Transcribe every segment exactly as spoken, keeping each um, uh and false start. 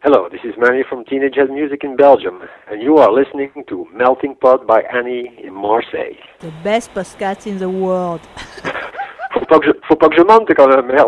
Hello, this is Manny from Teenage Head Music in Belgium, and you are listening to Melting Pot by Annie in Marseille. The best podcast in the world. Faut pas que je, faut pas que je monte quand même, merde.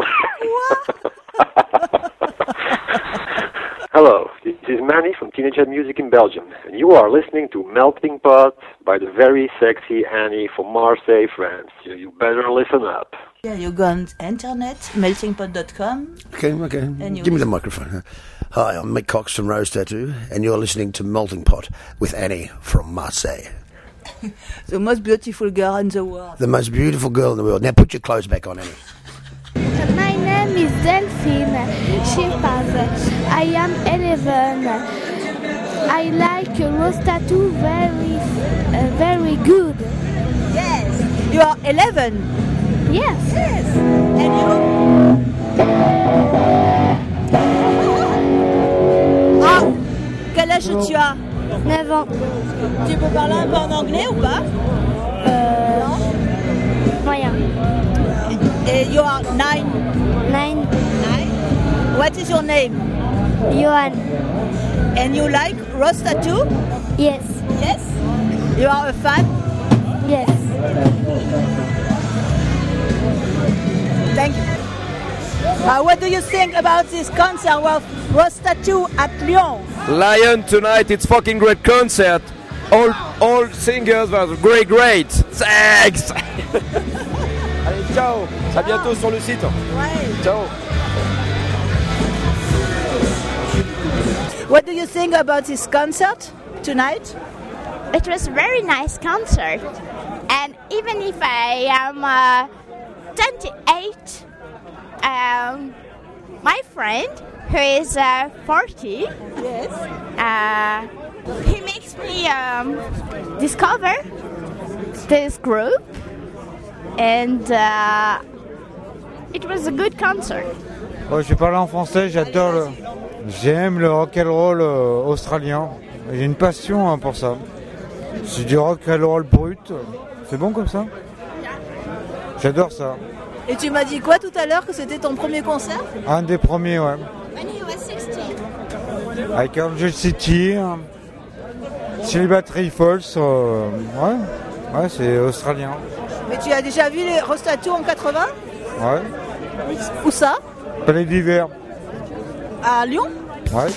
Hello, this is Manny from Teenage Head Music in Belgium, and you are listening to Melting Pot by the very sexy Annie from Marseille, France. You, you better listen up. Yeah, you go on internet, melting pot dot com. Okay, okay. Give me the microphone. Hi, I'm Mick Cox from Rose Tattoo, and you're listening to Melting Pot with Annie from Marseille. The most beautiful girl in the world. The most beautiful girl in the world. Now put your clothes back on, Annie. My name is Delphine Shepard. I am eleven. I like Rose Tattoo very, uh, very good. Yes. You are eleven. Yes. Yes. And you? Ah, quel âge tu as? neuf ans. Tu peux parler un peu en anglais ou pas? Euh, Non. Moyen. Et you are nine. Nine. Nine. What is your name? Johan. And you like Rose Tattoo? Yes. Yes. You are a fan? Yes. Thank you. Uh, what do you think about this concert of Rose Tattoo at Lyon? Lion tonight, it's fucking great concert. All all singers were great, great. Thanks. Allez, ciao. À bientôt sur le site. Ouais. Ciao. What do you think about this concert tonight? It was a very nice concert. And even if I am uh, twenty-eight, um, my friend, who is uh, forty, Yes. uh, he makes me um, discover this group. And uh, it was a good concert. Oh, je vais parler en français, j'adore le... J'aime le rock'n'roll euh, australien. J'ai une passion hein, pour ça. C'est du rock'n'roll brut. C'est bon comme ça? J'adore ça. Et tu m'as dit quoi tout à l'heure, que c'était ton premier concert? Un des premiers, ouais. When he was sixteen. Avec Angel City, hein. Celebratory Falls, euh, ouais. Ouais, c'est australien. Mais tu as déjà vu les Rose Tattoo en quatre-vingts? Ouais. Où ça? Palais d'hiver. À Lyon? Ouais.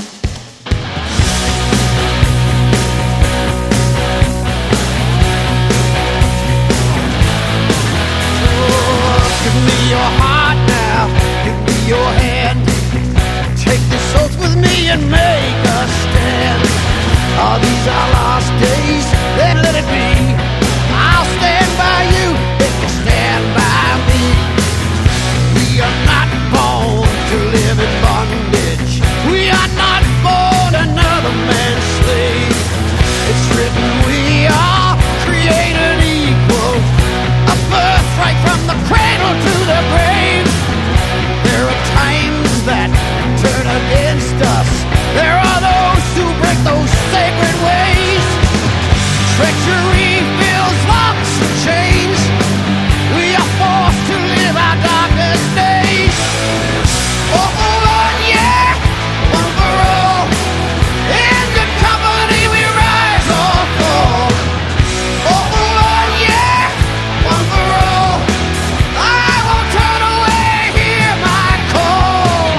Give me your heart now, give me your hand. Take this oath with me and make a stand. Are these our last days? Then let it be. I'll stand by you if you stand by me. We are not born to live in bondage. We are not born another man's slave. It's written we are created equal. A birthright from the cradle to the grave. There are times that turn against us. There are those who break those sacred ways. Treachery fills locks and chains. We are forced to live our darkest days. Oh, one, yeah, one for all. In good company we rise or fall. Oh, one, yeah, one for all. I won't turn away, hear my call.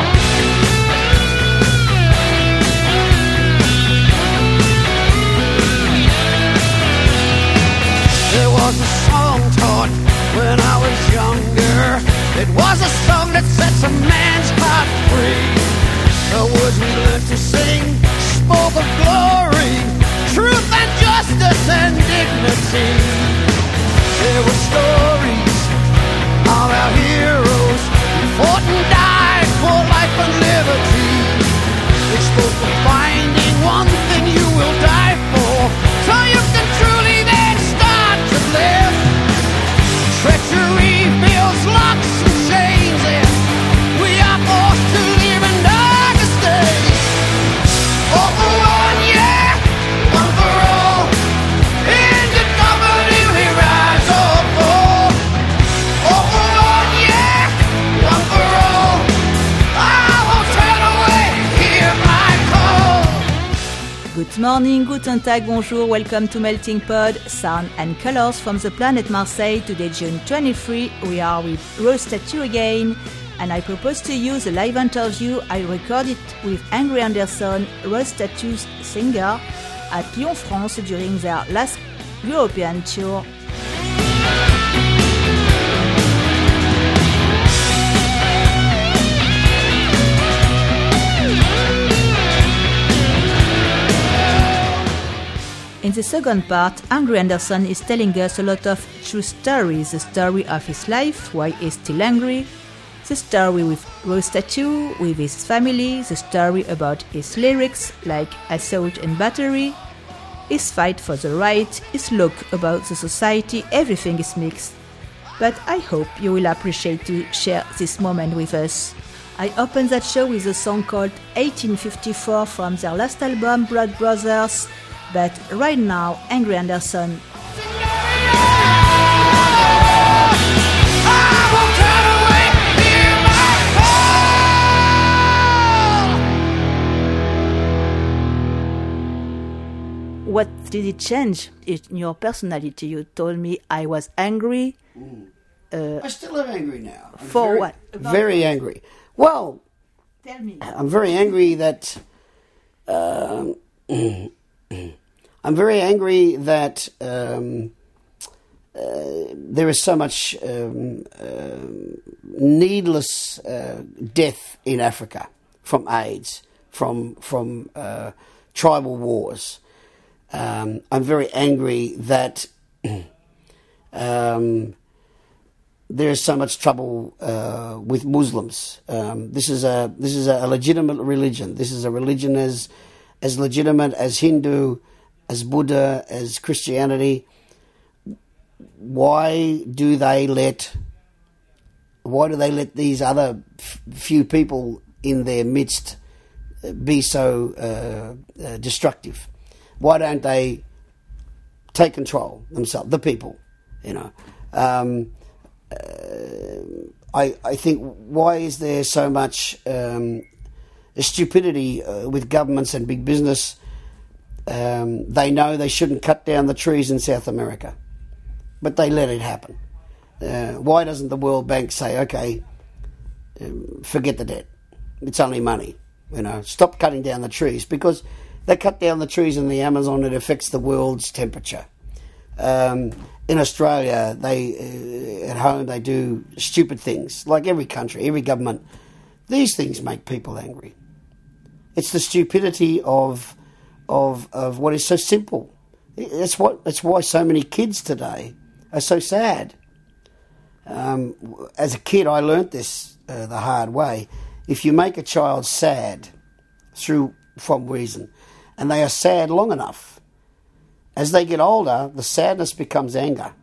There was a song taught when I was younger. It was a song that sets a man's heart free. The words we learned to sing spoke of glory, truth and justice and dignity. There were stories of our heroes who fought and died for life and liberty. They spoke of finding one thing you will die for, so you can truly then start to live. Treachery fills locks and chains, and we are forced to live in darkest days. Oh, one, yeah, one for all. In good company we rise or fall. Oh, one, yeah, one for all. I won't turn away, hear my Good morning, guten tag, bonjour, welcome to Melting Pod, sound and colors from the planet Marseille. Today, June twenty-third, we are with Rose Tattoo again, and I propose to you the live interview I recorded with Angry Anderson, Rose Tattoo's singer, at Lyon, France during their last European tour. In the second part, Angry Anderson is telling us a lot of true stories, the story of his life, why he's still angry, the story with Rose Tattoo, with his family, the story about his lyrics, like Assault and Battery, his fight for the right, his look about the society, everything is mixed. But I hope you will appreciate to share this moment with us. I opened that show with a song called eighteen fifty-four from their last album, Blood Brothers. But right now, Angry Anderson. What did it change in your personality? You told me I was angry. Mm. Uh, I still am angry now. I'm for very, what? Very angry. Well, tell me. I'm very angry that... Um, I'm very angry that um, uh, there is so much um, uh, needless uh, death in Africa from AIDS, from from uh, tribal wars. Um, I'm very angry that um, there is so much trouble uh, with Muslims. Um, this is a this is a legitimate religion. This is a religion as as legitimate as Hindu, as Buddha, as Christianity. Why do they let why do they let these other f- few people in their midst be so uh, uh, destructive? Why don't they take control themselves, the people, you know? Um, uh, I I think, why is there so much um, stupidity uh, with governments and big business? Um, they know they shouldn't cut down the trees in South America, but they let it happen. Uh, why doesn't the World Bank say, okay, um, forget the debt, it's only money, you know, stop cutting down the trees? Because they cut down the trees in the Amazon, it affects the world's temperature. Um, in Australia, they uh, at home they do stupid things, like every country, every government. These things make people angry. It's the stupidity of Of, of what is so simple. That's what. That's why so many kids today are so sad. Um, as a kid, I learnt this uh, the hard way. If you make a child sad through from reason, and they are sad long enough, as they get older, the sadness becomes anger.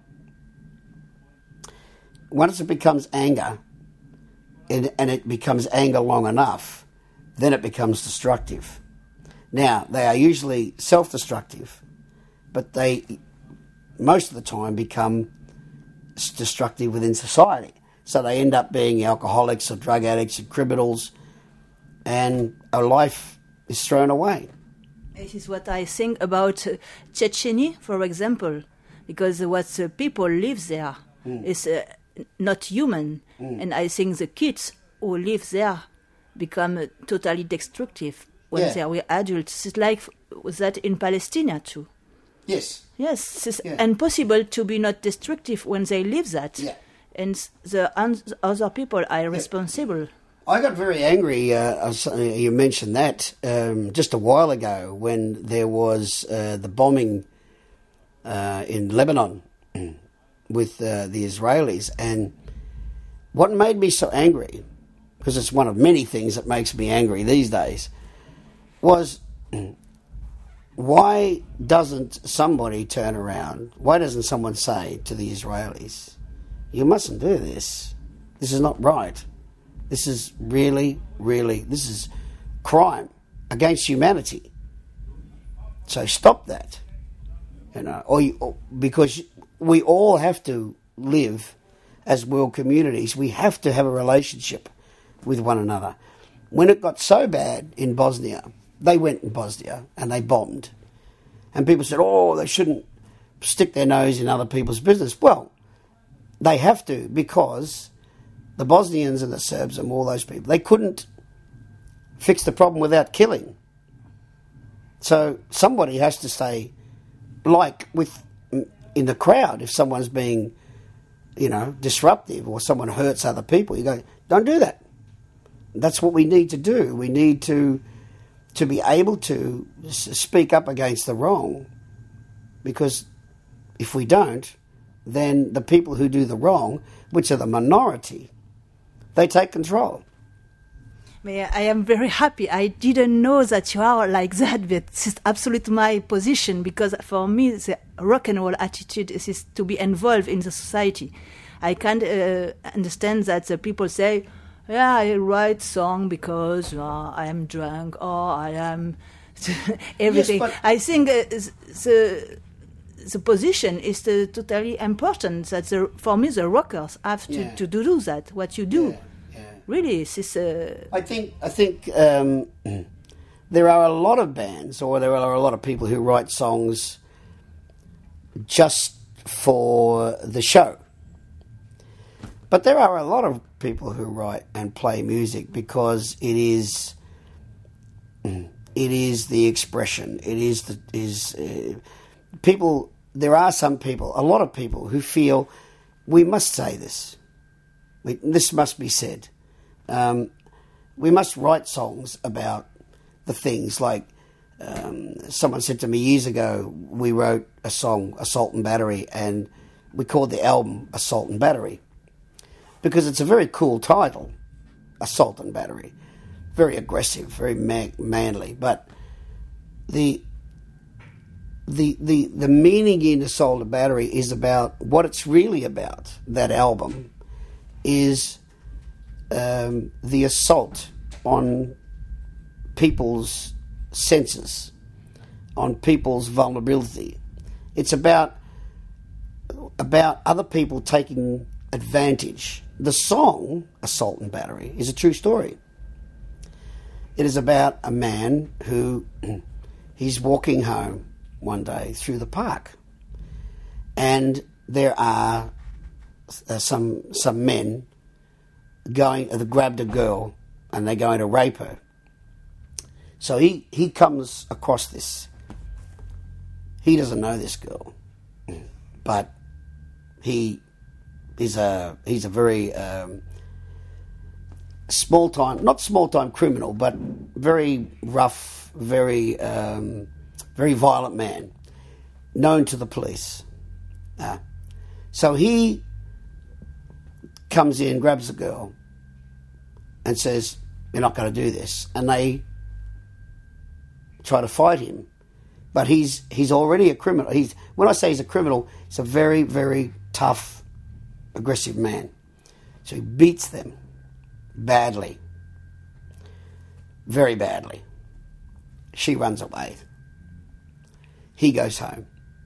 Once it becomes anger, and, and it becomes anger long enough, then it becomes destructive. Now, they are usually self-destructive, but they, most of the time, become destructive within society. So they end up being alcoholics or drug addicts and criminals, and a life is thrown away. This is what I think about uh, Chechnya, for example, because what uh, people live there mm. is uh, not human, mm. and I think the kids who live there become uh, totally destructive. When yeah. they are adults, it's like that in Palestine too. Yes. Yes, it's yeah. impossible to be not destructive when they live that. Yeah. And the un- other people are yeah. responsible. I got very angry, uh, you mentioned that, um, just a while ago when there was uh, the bombing uh, in Lebanon with uh, the Israelis. And what made me so angry, because it's one of many things that makes me angry these days, was why doesn't somebody turn around, why doesn't someone say to the Israelis, you mustn't do this, this is not right, this is really, really, this is crime against humanity, so stop that, you know, or, you, or because we all have to live as world communities, we have to have a relationship with one another. When it got so bad in Bosnia, they went in Bosnia and they bombed. And people said, oh, they shouldn't stick their nose in other people's business. Well, they have to, because the Bosnians and the Serbs and all those people, they couldn't fix the problem without killing. So somebody has to say, like with in the crowd, if someone's being, you know, disruptive or someone hurts other people, you go, don't do that. That's what we need to do. We need to to be able to speak up against the wrong, because if we don't, then the people who do the wrong, which are the minority, they take control. I am very happy. I didn't know that you are like that, but it's absolutely my position, because for me, the rock and roll attitude is, is to be involved in the society. I can't uh, understand that the people say, yeah, I write song because uh, I am drunk or I am everything. Yes, I think uh, the the position is uh, totally important. That the, for me, the rockers have to, Yeah. to do that. What you do, Yeah, yeah. really, this is. Uh, I think I think um, there are a lot of bands, or there are a lot of people who write songs just for the show. But there are a lot of people who write and play music because it is it is the expression. It is the is uh, people. There are some people, a lot of people, who feel we must say this. We, this must be said. Um, we must write songs about the things like um, someone said to me years ago. We wrote a song, Assault and Battery, and we called the album Assault and Battery, because it's a very cool title, Assault and Battery. Very aggressive, very man- manly. But the, the the the meaning in Assault and Battery is about what it's really about. That album is um, the assault on people's senses, on people's vulnerability. It's about about other people taking advantage. The song, Assault and Battery, is a true story. It is about a man who, he's walking home one day through the park, and there are uh, some some men going, uh, grabbed a girl, and they're going to rape her. So he, he comes across this. He doesn't know this girl, but he He's a he's a very um, small time, not small time criminal, but very rough, very um, very violent man, known to the police. Uh, so he comes in, grabs the girl, and says, "You're not going to do this," and they try to fight him, but he's he's already a criminal. He's when I say he's a criminal, he's a very very tough, aggressive man. So he beats them badly, very badly. She runs away. He goes home.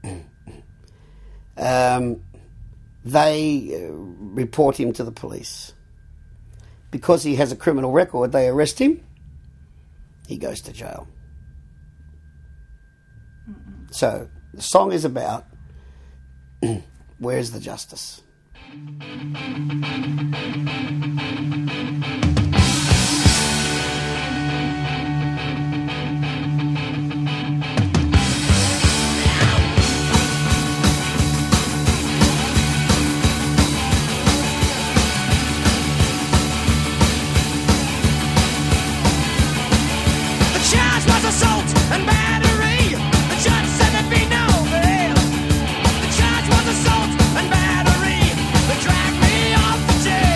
um, they uh, report him to the police. Because he has a criminal record, they arrest him. He goes to jail. So the song is about where's the justice? Assault and battery. They drag me off the jail.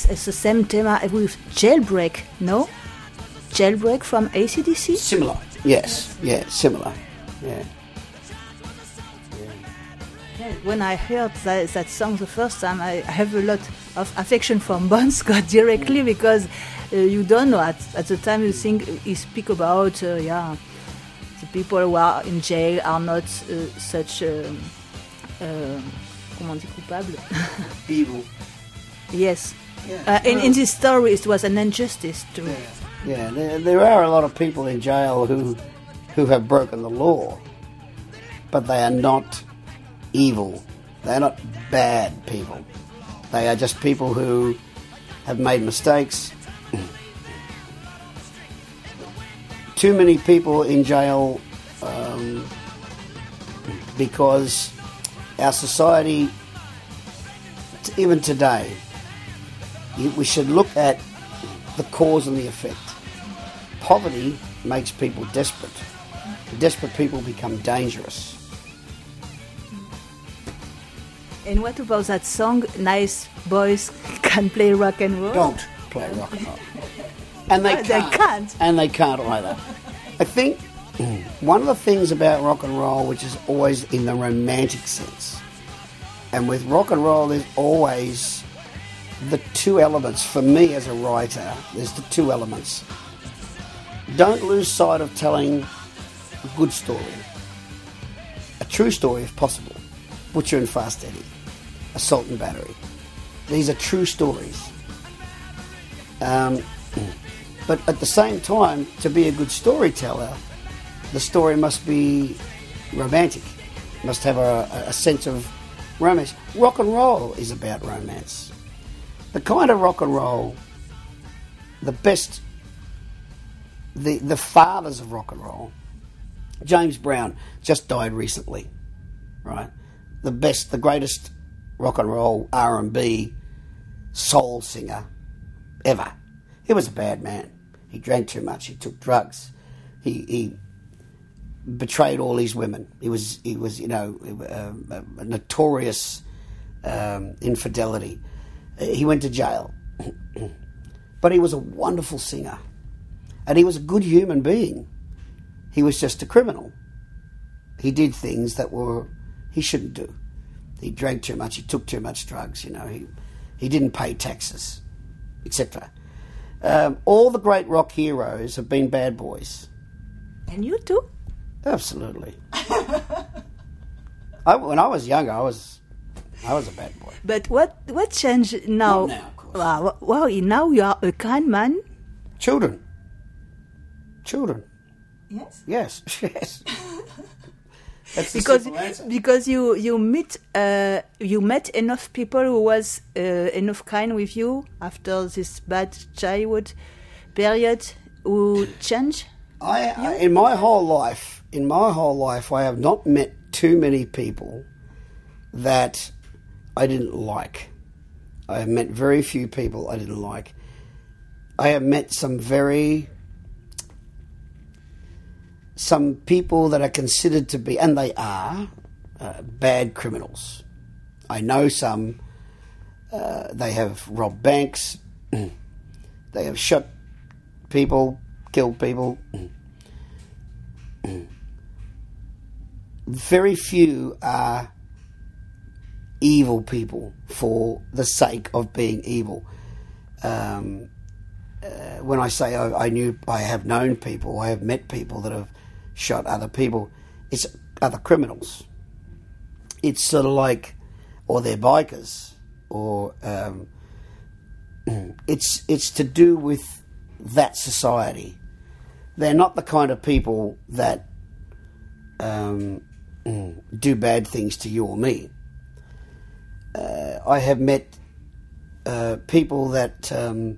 it's, it's the same theme with Jailbreak, no? Jailbreak from A C D C? Similar, yes, yeah, similar, yeah. When I heard that, that song the first time, I have a lot of affection for Bon Scott directly because uh, you don't know at, at the time you think he speak about uh, yeah the people who are in jail are not uh, such um, uh, comment on dit coupable Evil. Yes, Yeah. uh, in, in this story it was an injustice too. Yeah, yeah. There, there are a lot of people in jail who who have broken the law, but they are not evil. They're not bad people. They are just people who have made mistakes. Too many people in jail um, because our society, t- even today, you, we should look at the cause and the effect. Poverty makes people desperate. Desperate people become dangerous. And what about that song, Nice Boys Can Play Rock and Roll? Don't play rock and roll. And they They can't. can't. And they can't either. I think one of the things about rock and roll, which is always in the romantic sense, and with rock and roll there's always the two elements, for me as a writer, there's the two elements. Don't lose sight of telling a good story. A true story if possible. Butcher and Fast Eddie, Assault and Battery. These are true stories. Um, but at the same time, to be a good storyteller, the story must be romantic. Must have a, a sense of romance. Rock and roll is about romance. The kind of rock and roll, the best, the, the fathers of rock and roll, James Brown just died recently, right? The best, the greatest rock and roll R and B soul singer ever. He was a bad man. He drank too much. He took drugs. He, he betrayed all his women. He was, he was, you know, a, a notorious um, infidelity. He went to jail, but he was a wonderful singer, and he was a good human being. He was just a criminal. He did things that were he shouldn't do. He drank too much. He took too much drugs. You know, he he didn't pay taxes, et cetera. Um, all the great rock heroes have been bad boys. And you too? Absolutely. I, when I was younger, I was I was a bad boy. But what what changed now? Not now, of course. Wow, wow, now you are a kind man. Children. Children. Yes. Yes. Yes. That's the Because simple answer. because you you meet uh, you met enough people who was uh, enough kind with you after this bad childhood period who change. I, I in my whole life, in my whole life, I have not met too many people that I didn't like. I have met very few people I didn't like. I have met some very some people that are considered to be, and they are, uh, bad criminals. I know some. Uh, they have robbed banks. They have shot people, killed people. Very few are evil people for the sake of being evil. Um, uh, when I say I, I knew, I have known people, I have met people that have shot other people, it's other criminals. It's sort of like, or they're bikers, or um, it's it's to do with that society. They're not the kind of people that um, do bad things to you or me. Uh, I have met uh, people that, um,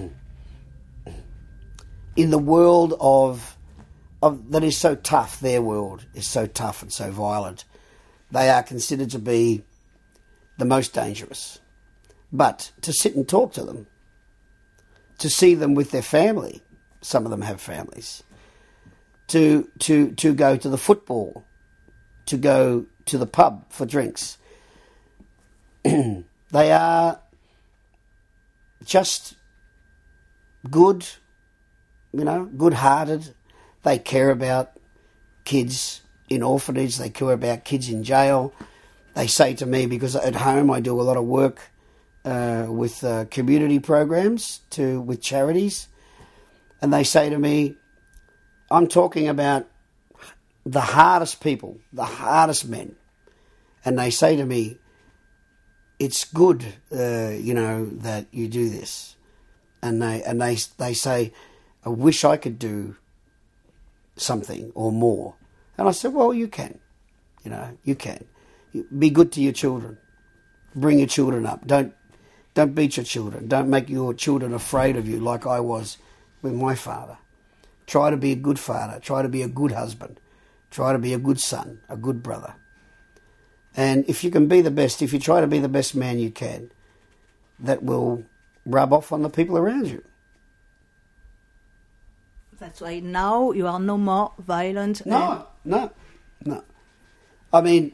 in the world of, of that is so tough, their world is so tough and so violent, they are considered to be the most dangerous. But to sit and talk to them, to see them with their family, some of them have families, to to to go to the football, to go to the pub for drinks. They are just good, you know, good-hearted. They care about kids in orphanage. They care about kids in jail. They say to me, because at home I do a lot of work uh, with uh, community programs to with charities, and they say to me, I'm talking about the hardest people, the hardest men, and they say to me, it's good, uh, you know, that you do this. And they and they they say, I wish I could do something or more. And I said, well, you can. You know, you can. Be good to your children. Bring your children up. Don't don't beat your children. Don't make your children afraid of you like I was with my father. Try to be a good father. Try to be a good husband. Try to be a good son, a good brother. And if you can be the best, if you try to be the best man you can, that will rub off on the people around you. That's why now you are no more violent. No, no, no. I mean,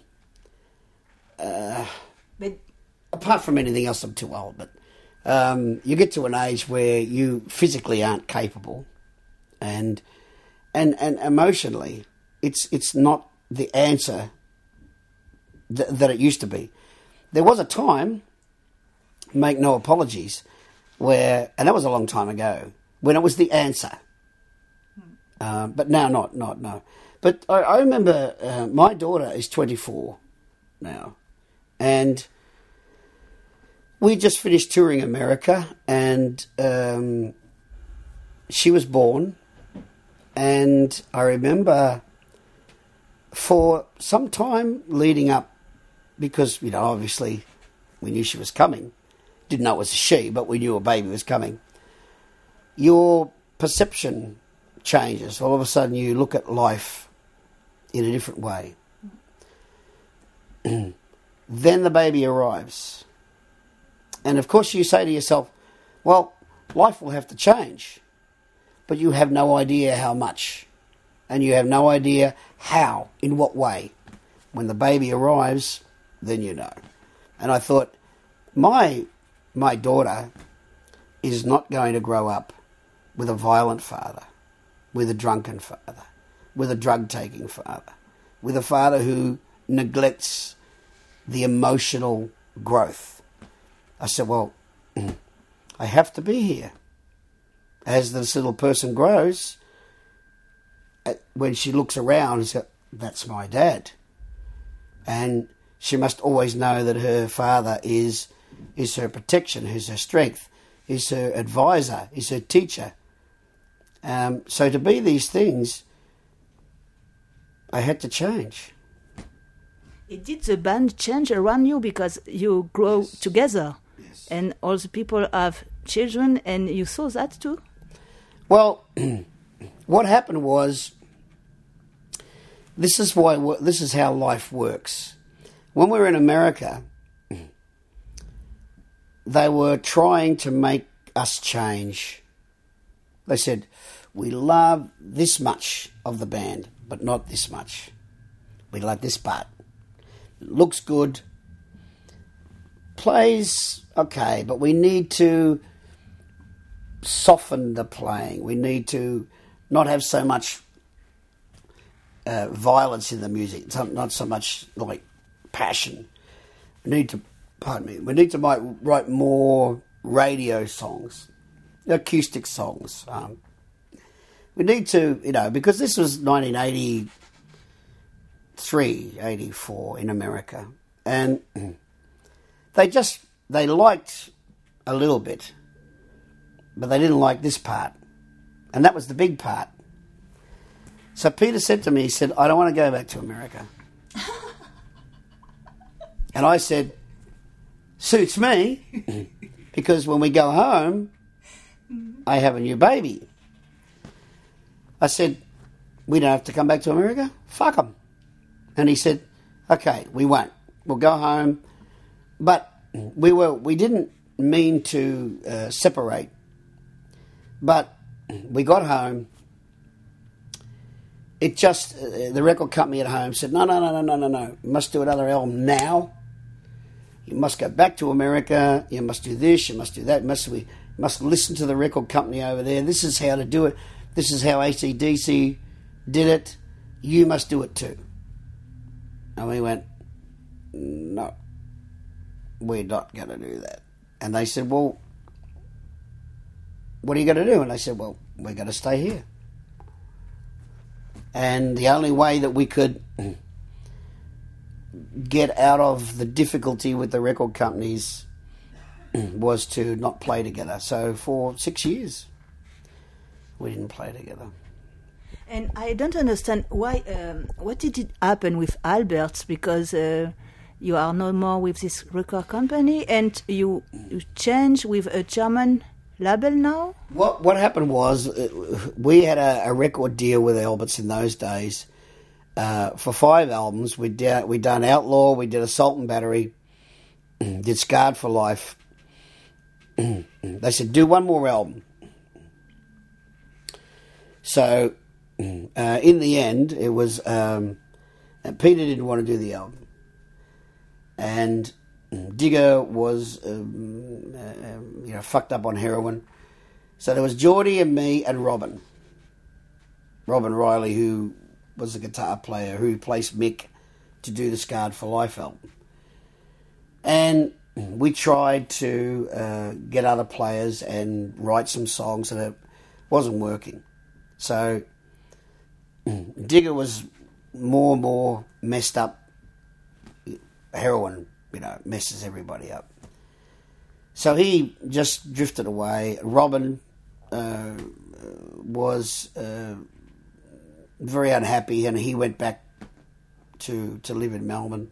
uh, but apart from anything else, I'm too old, but um, you get to an age where you physically aren't capable, and and and emotionally, it's it's not the answer th- that it used to be. There was a time, make no apologies, where, and that was a long time ago, when it was the answer. Uh, but now not, not, no. But I, I remember uh, my daughter is twenty-four now, and we just finished touring America, and um, she was born, and I remember for some time leading up, because, you know, obviously we knew she was coming, didn't know it was a she, but we knew a baby was coming, your perception changes. All of a sudden you look at life in a different way. Then the baby arrives. And of course you say to yourself, well, life will have to change. But you have no idea how much. And you have no idea how, in what way. When the baby arrives, then you know. And I thought, my my daughter is not going to grow up with a violent father, with a drunken father, with a drug-taking father, with a father who neglects the emotional growth. I said, well, I have to be here. As this little person grows, when she looks around and says, that's my dad. And she must always know that her father is is her protection, is her strength, is her advisor, is her teacher. Um, so to be these things, I had to change. It did the band change around you because you grow Yes. together, Yes. and all the people have children, and you saw that too? Well, what happened was, this is why this is how life works. When we were in America, they were trying to make us change. They said, we love this much of the band, but not this much. We like this part. It looks good. Plays okay, but we need to soften the playing. We need to not have so much uh, violence in the music, not so much like passion. We need to, pardon me, we need to write, write more radio songs, acoustic songs. Um, we need to, you know, because this was nineteen eighty-three, eighty-four in America, and they just, they liked a little bit, but they didn't like this part, and that was the big part. So Peter said to me, he said, I don't want to go back to America. And I said, suits me, because when we go home, I have a new baby. I said, we don't have to come back to America? Fuck them. And he said, okay, we won't. We'll go home. But we were we didn't mean to uh, separate. But we got home. It just, uh, the record company at home said, no, no, no, no, no, no, no. You must do another album now. you must go back to America, you must do this, you must do that, you must, we must listen to the record company over there, this is how to do it, this is how A C D C did it, you must do it too. And we went, no, we're not going to do that. And they said, well, what are you going to do? And I said, well, we're going to stay here. And the only way that we could get out of the difficulty with the record companies was to not play together. So for six years, we didn't play together. And I don't understand why. Um, what did it happen with Albert's? Because uh, you are no more with this record company, and you you change with a German label now. What what happened was uh, we had a, a record deal with Albert's in those days uh, for five albums. We did we done Outlaw, we did Assault and Battery, did Scarred for Life. They said do one more album. So. Uh, in the end, it was um, Peter didn't want to do the album, and Digger was um, uh, you know fucked up on heroin. So there was Geordie and me and Robin, Robin Riley, who was a guitar player who replaced Mick to do the Scarred for Life album, and we tried to uh, get other players and write some songs, and it wasn't working. So. Digger was more and more messed up. Heroin, you know, messes everybody up. So he just drifted away. Robin uh, was uh, very unhappy, and he went back to to live in Melbourne.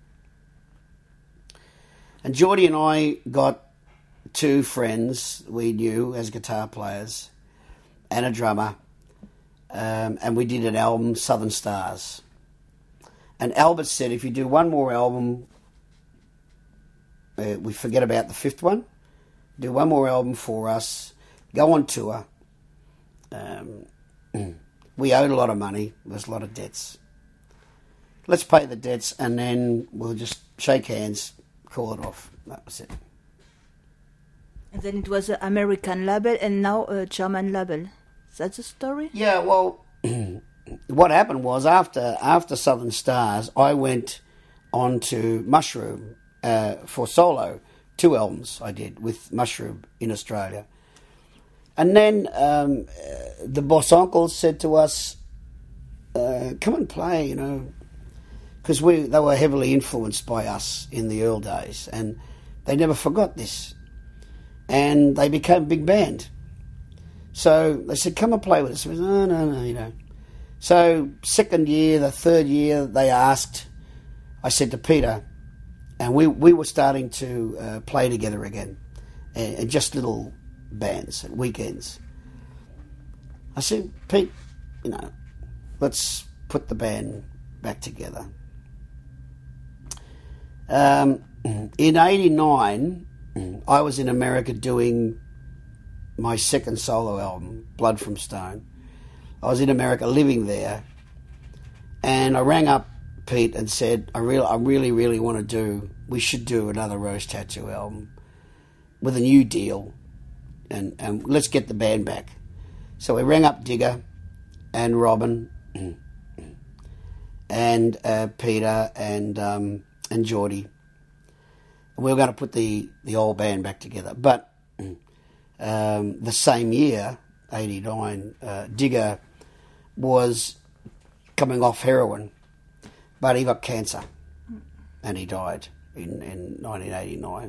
And Geordie and I got two friends we knew as guitar players and a drummer. Um, and we did an album, Southern Stars. And Albert said, if you do one more album, uh, we forget about the fifth one, do one more album for us, go on tour. Um, we owed a lot of money, there was a lot of debts. Let's pay the debts and then we'll just shake hands, call it off. That was it. And then it was an American label and now a German label. That's the story? Yeah, well, what happened was after after Southern Stars, I went on to Mushroom uh, for solo. Two albums I did with Mushroom in Australia. And then um, uh, the Boss Uncles said to us, uh, come and play, you know, because we they were heavily influenced by us in the early days, and they never forgot this. And they became a big band. So they said, come and play with us. We said, no, no, no, you know. So second year, the third year, they asked, I said to Peter, and we, we were starting to uh, play together again, and, and just little bands at weekends. I said, Pete, you know, let's put the band back together. Um, in eighty-nine, I was in America doing my second solo album, Blood from Stone. I was in America living there, and I rang up Pete and said, I really, I really, really want to do, we should do another Rose Tattoo album with a new deal, and, and let's get the band back. So we rang up Digger and Robin and uh, Peter and um, and Geordie. And we were going to put the, the old band back together. But Um, the same year, eighty-nine, uh, Digger was coming off heroin, but he got cancer, and he died in, in nineteen eighty-nine.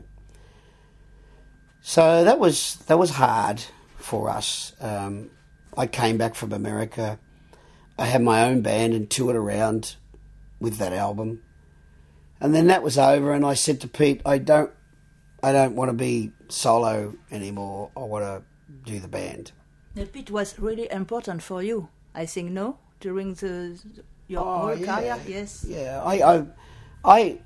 So that was that was hard for us. Um, I came back from America. I had my own band and toured around with that album, and then that was over. And I said to Pete, I don't. I don't want to be solo anymore. I want to do the band. The Pete was really important for you, I think, no? During the your oh, whole yeah. career, yes. Yeah, I, I, I,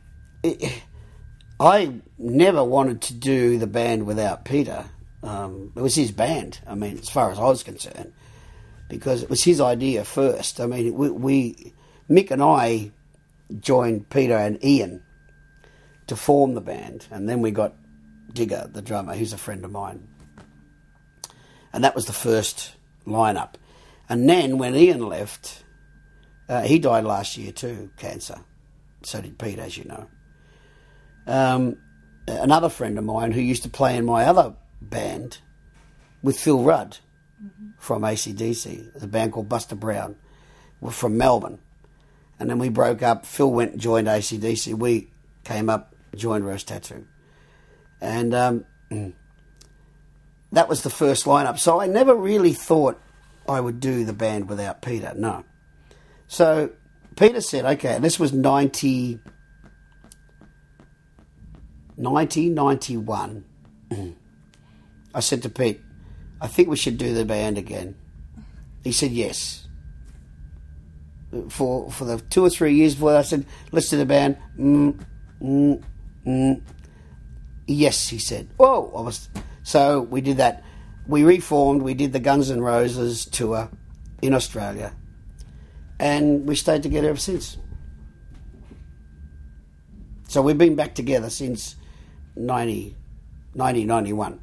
I never wanted to do the band without Peter. Um, it was his band. I mean, as far as I was concerned, because it was his idea first. I mean, we, we Mick and I joined Peter and Ian to form the band. And then we got Digger, the drummer, who's a friend of mine. And that was the first lineup. And then when Ian left, uh, he died last year too, cancer. So did Pete, as you know. Um, another friend of mine who used to play in my other band with Phil Rudd mm-hmm. from A C D C, a band called Buster Brown, were from Melbourne. And then we broke up. Phil went and joined A C D C. We came up, joined Rose Tattoo. And um, that was the first lineup. So I never really thought I would do the band without Peter, no. So Peter said, okay, and this was ninety, ninety, ninety-one. I said to Pete, I think we should do the band again. He said yes. For for the two or three years before, I said, let's do the band. Mm, mm, mm. Yes, he said. Whoa! I was, so we did that. We reformed. We did the Guns N' Roses tour in Australia. And we stayed together ever since. So we've been back together since ninety, ninety ninety-one.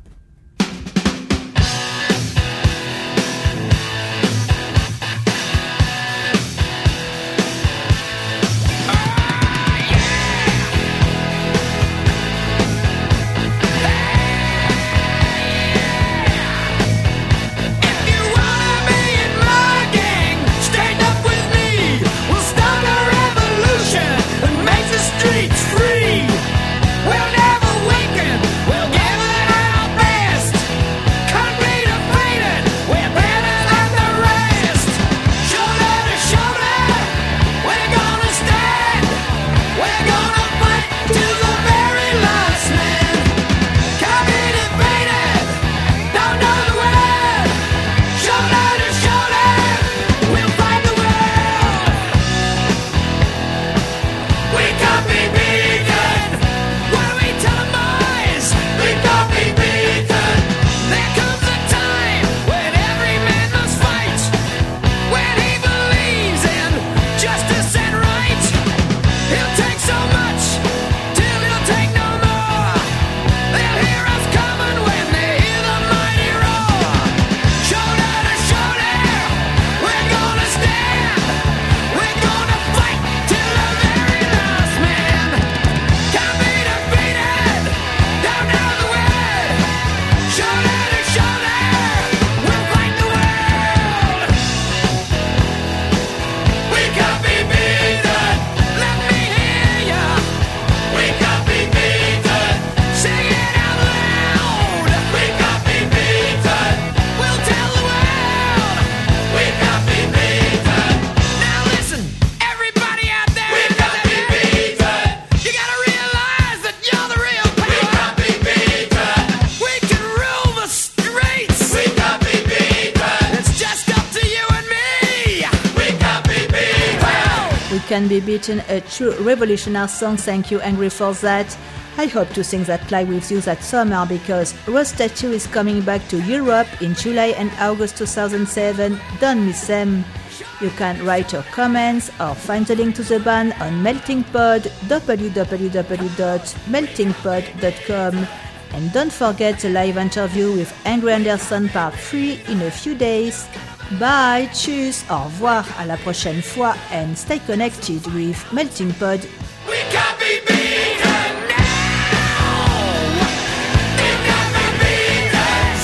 Can Be Beaten, a true revolutionary song. Thank you, Angry, for that. I hope to sing that live with you that summer because Rose Tattoo is coming back to Europe in July and August two thousand seven. Don't miss them. You can write your comments or find the link to the band on Melting Pod, w w w dot melting pod dot com. And don't forget the live interview with Angry Anderson part three in a few days. Bye, tschüss, au revoir, à la prochaine fois, and stay connected with Melting Pod. We can't be beaten now. We can't be beaten.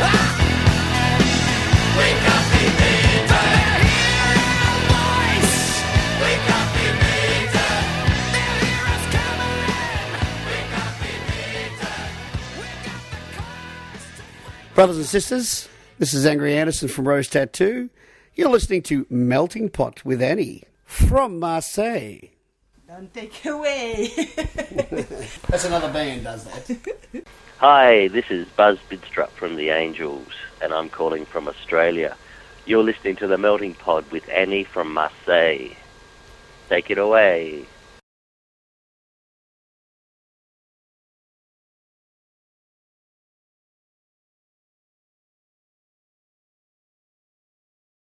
We can't be beaten. Hear our voice. We can't be beaten. They'll hear us coming. We can't be beaten. We got the courage. Brothers and sisters, this is Angry Anderson from Rose Tattoo. You're listening to Melting Pot with Annie from Marseille. Don't take away. That's another band does that. Hi, this is Buzz Bidstrup from The Angels, and I'm calling from Australia. You're listening to The Melting Pot with Annie from Marseille. Take it away.